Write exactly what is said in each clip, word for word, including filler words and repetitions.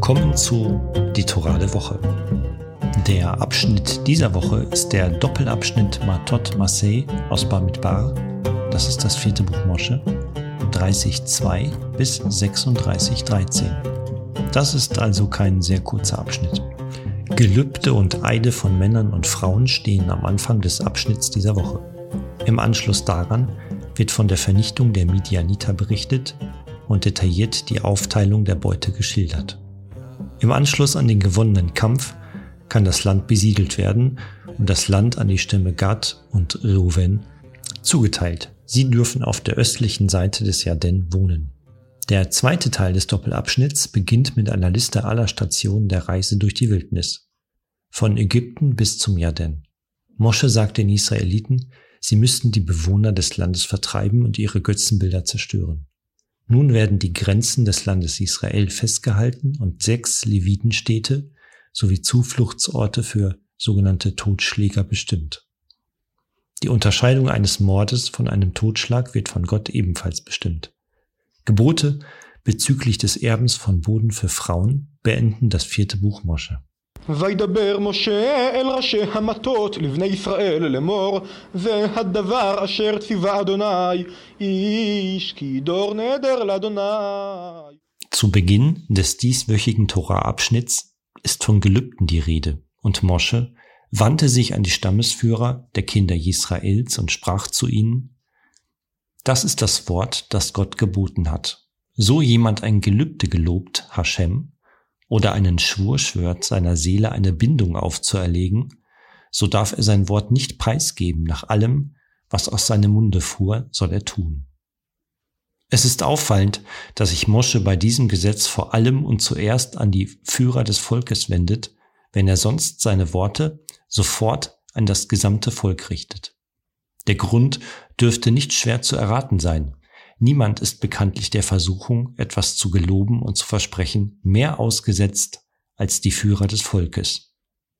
Willkommen zu Die Torah der Woche. Der Abschnitt dieser Woche ist der Doppelabschnitt Matot Maseh aus Bamidbar, das ist das vierte Buch Mosche, dreißig zwei bis sechsunddreißig dreizehn. Das ist also kein sehr kurzer Abschnitt. Gelübde und Eide von Männern und Frauen stehen am Anfang des Abschnitts dieser Woche. Im Anschluss daran wird von der Vernichtung der Midianiter berichtet und detailliert die Aufteilung der Beute geschildert. Im Anschluss an den gewonnenen Kampf kann das Land besiedelt werden und das Land an die Stämme Gad und Reuven zugeteilt. Sie dürfen auf der östlichen Seite des Jordan wohnen. Der zweite Teil des Doppelabschnitts beginnt mit einer Liste aller Stationen der Reise durch die Wildnis. Von Ägypten bis zum Jordan. Mosche sagt den Israeliten, sie müssten die Bewohner des Landes vertreiben und ihre Götzenbilder zerstören. Nun werden die Grenzen des Landes Israel festgehalten und sechs Levitenstädte sowie Zufluchtsorte für sogenannte Totschläger bestimmt. Die Unterscheidung eines Mordes von einem Totschlag wird von Gott ebenfalls bestimmt. Gebote bezüglich des Erbens von Boden für Frauen beenden das vierte Buch Mosche. וידבר משה אל ראשי המטות לבני ישראל לאמור זה הדבר אשר ציווה אדוני איש כי דור נדר לאדוני. Zu Beginn des dieswöchigen Tora-Abschnitts ist von Gelübden die Rede und Mosche wandte sich an die Stammesführer der Kinder Israels und sprach zu ihnen: Das ist das Wort, das Gott geboten hat. So jemand ein Gelübde gelobt, Hashem, oder einen Schwur schwört, seiner Seele eine Bindung aufzuerlegen, so darf er sein Wort nicht preisgeben. Nach allem, was aus seinem Munde fuhr, soll er tun. Es ist auffallend, dass sich Mosche bei diesem Gesetz vor allem und zuerst an die Führer des Volkes wendet, wenn er sonst seine Worte sofort an das gesamte Volk richtet. Der Grund dürfte nicht schwer zu erraten sein. Niemand ist bekanntlich der Versuchung, etwas zu geloben und zu versprechen, mehr ausgesetzt als die Führer des Volkes.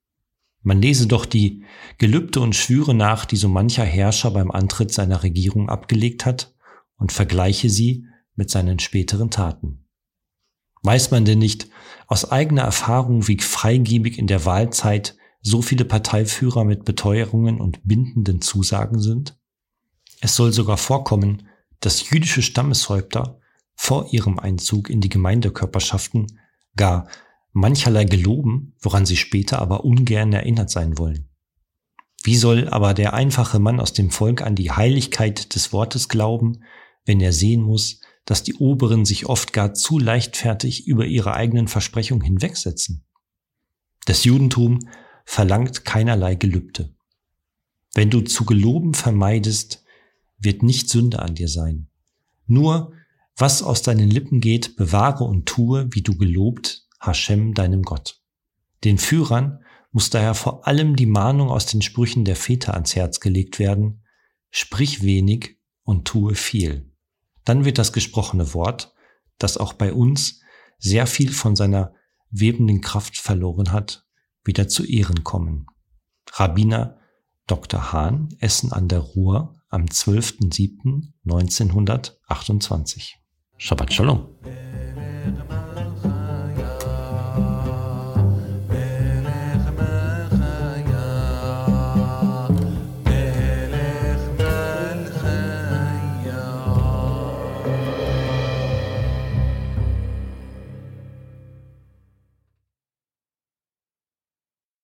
Man lese doch die Gelübde und Schwüre nach, die so mancher Herrscher beim Antritt seiner Regierung abgelegt hat, und vergleiche sie mit seinen späteren Taten. Weiß man denn nicht aus eigener Erfahrung, wie freigebig in der Wahlzeit so viele Parteiführer mit Beteuerungen und bindenden Zusagen sind? Es soll sogar vorkommen, dass jüdische Stammeshäupter vor ihrem Einzug in die Gemeindekörperschaften gar mancherlei geloben, woran sie später aber ungern erinnert sein wollen. Wie soll aber der einfache Mann aus dem Volk an die Heiligkeit des Wortes glauben, wenn er sehen muss, dass die Oberen sich oft gar zu leichtfertig über ihre eigenen Versprechungen hinwegsetzen? Das Judentum verlangt keinerlei Gelübde. Wenn du zu geloben vermeidest, wird nicht Sünde an dir sein. Nur, was aus deinen Lippen geht, bewahre und tue, wie du gelobt, Hashem, deinem Gott. Den Führern muss daher vor allem die Mahnung aus den Sprüchen der Väter ans Herz gelegt werden: Sprich wenig und tue viel. Dann wird das gesprochene Wort, das auch bei uns sehr viel von seiner webenden Kraft verloren hat, wieder zu Ehren kommen. Rabbiner Doktor Hahn, Essen an der Ruhr, am zwölften siebten neunzehnhundertachtundzwanzig. Shabbat Shalom.